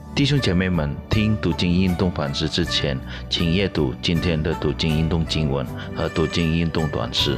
弟兄姐妹们，听读经运动反思之前，请阅读今天的读经运动经文和读经运动短诗。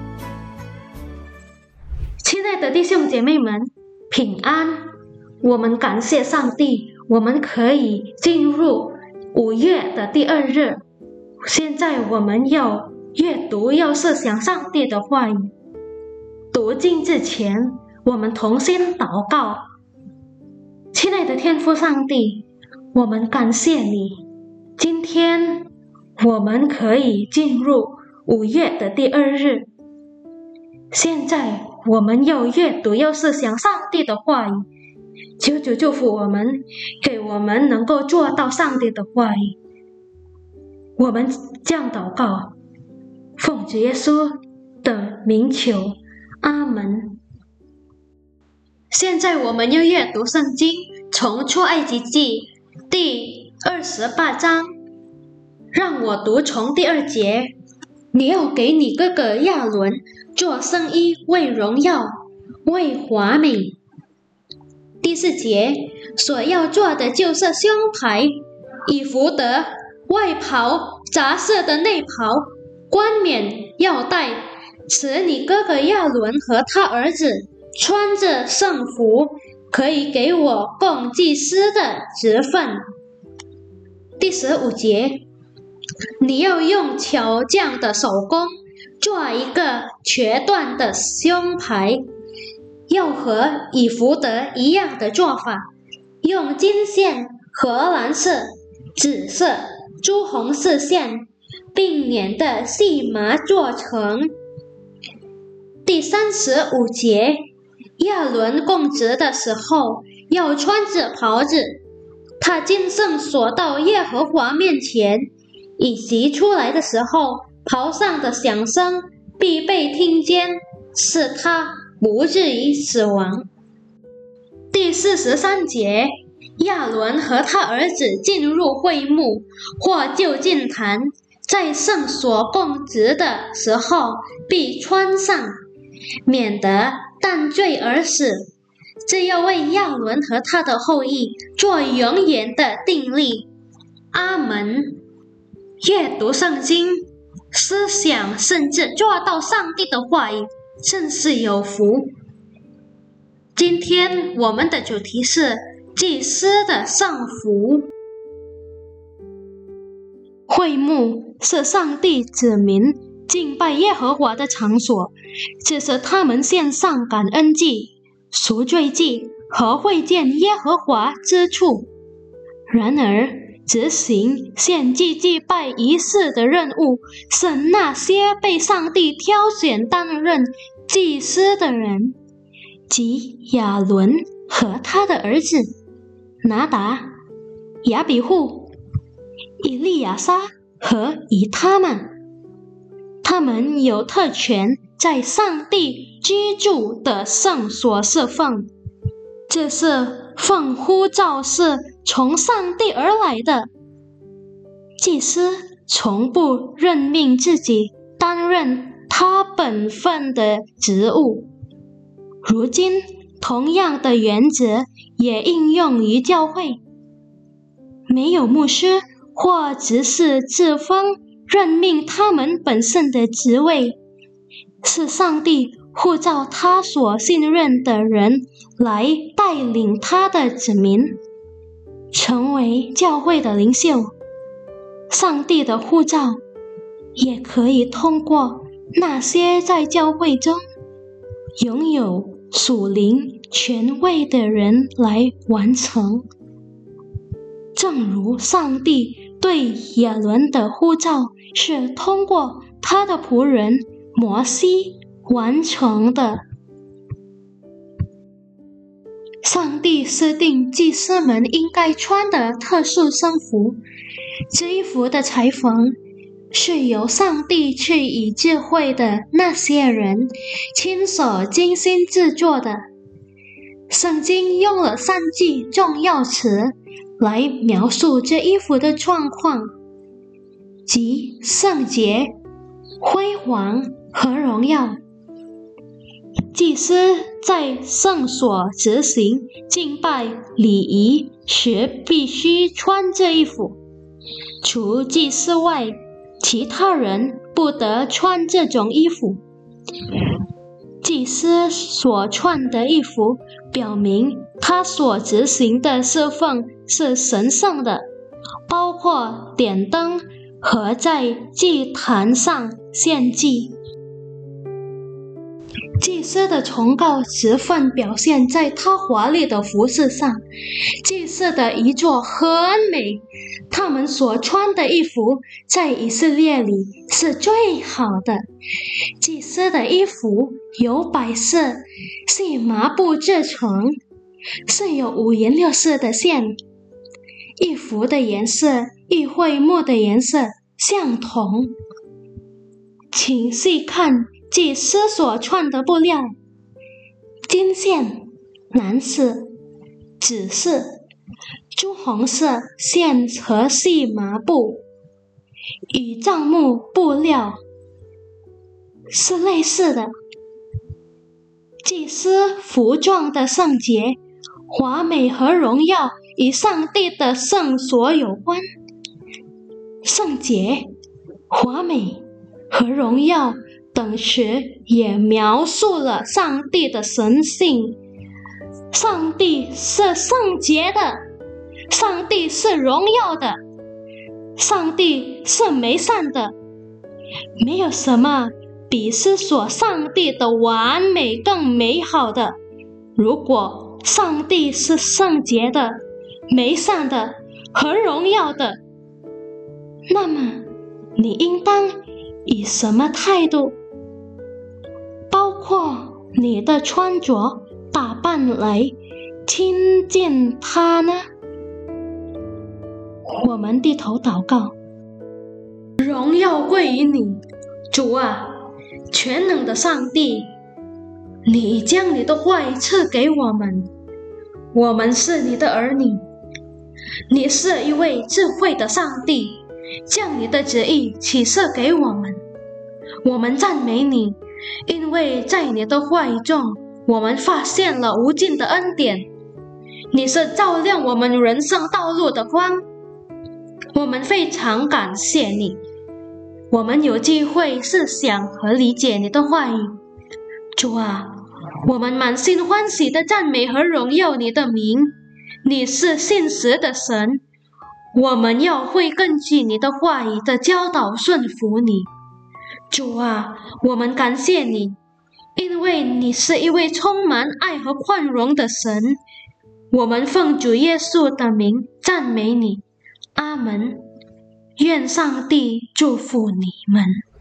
亲爱的弟兄姐妹们，平安！我们感谢上帝，我们可以进入5月的第2日。现在我们要阅读，要思想上帝的话语。读经之前，我们同心祷告。亲爱的天父上帝，我们感谢你，今天我们可以进入5月的第2日。现在我们要阅读，要思想上帝的话语，求主祝福我们，给我们能够做到上帝的话语。我们这样祷告，奉主耶稣的名求，阿门。现在我们要阅读圣经，从出埃及记第28章，让我读从第2节。你要给你哥哥亚伦做圣衣，为荣耀，为华美。第4节，所要做的就是胸牌、以弗得、外袍、杂色的内袍、冠冕、腰带，使你哥哥亚伦和他儿子穿着圣服，可以给我供祭司的职分。第15节，你要用巧匠的手工做一个瘸断的胸牌，要和以弗得一样的做法，用金线、荷兰色、紫色、朱红丝线并捻的细麻做成。第35节，亚伦供职的时候要穿着袍子，他进圣所到耶和华面前，以及出来的时候，袍上的响声必被听见，使他不至于死亡。第43节，亚伦和他儿子进入会幕或就近坛，在圣所供职的时候必穿上，免得担罪而死。这要为亚伦和他的后裔做永远的定例。阿门。阅读圣经，思想甚至做到上帝的话语，真是有福。今天我们的主题是祭司的圣服。会幕是上帝子民敬拜耶和华的场所，这是他们献上感恩祭、赎罪祭和会见耶和华之处。然而，执行献祭祭拜仪式的任务是那些被上帝挑选担任祭司的人，即亚伦和他的儿子拿达、亚比户、以利亚撒和以他们。他们有特权在上帝居住的圣所侍奉，这是奉呼召是从上帝而来的。祭司从不任命自己担任他本分的职务。如今，同样的原则也应用于教会。没有牧师或执事自封任命他们本身的职位，是上帝呼召他所信任的人来带领他的子民，成为教会的领袖。上帝的呼召也可以通过那些在教会中拥有属灵权位的人来完成。正如上帝对亚伦的呼召是通过他的仆人摩西完成的。上帝设定祭司们应该穿的特殊圣服，这一服的裁缝是由上帝赐予智慧的那些人亲手精心制作的。圣经用了3句重要词来描述这衣服的状况，即圣洁、辉煌和荣耀。 祭司在圣所执行敬拜礼仪时必须穿这衣服，除祭司外，其他人不得穿这种衣服。祭司所穿的衣服表明他所执行的侍奉是神圣的，包括点灯和在祭坛上献祭。祭司的崇高职分表现在他华丽的服饰上，祭司的衣着很美，他们所穿的衣服在以色列里是最好的。祭司的衣服由白色细麻布制成，是有五颜六色的线，衣服的颜色与会幕的颜色相同。请细看祭司所穿的布料，金线、蓝色、紫色、朱红色线和细麻布，与帐幕布料是类似的。祭司服装的圣洁、华美和荣耀与上帝的圣所有关。圣洁、华美和荣耀等词也描述了上帝的神性。上帝是圣洁的，上帝是荣耀的，上帝是美善的。没有什么比思索上帝的完美更美好的。如果上帝是圣洁的、美善的和荣耀的，那么你应当以什么态度，包括你的穿着打扮来亲近他呢？我们低头祷告。荣耀归于你，主啊，全能的上帝，你将你的话语赐给我们，我们是你的儿女。你是一位智慧的上帝，将你的旨意启示给我们。我们赞美你，因为在你的话语中，我们发现了无尽的恩典。你是照亮我们人生道路的光，我们非常感谢你。我们有机会思想和理解你的话语，主啊，我们满心欢喜的赞美和荣耀你的名。你是信实的神，我们要会根据你的话语的教导顺服你。主啊，我们感谢你，因为你是一位充满爱和宽容的神。我们奉主耶稣的名赞美你，阿们。愿上帝祝福你们。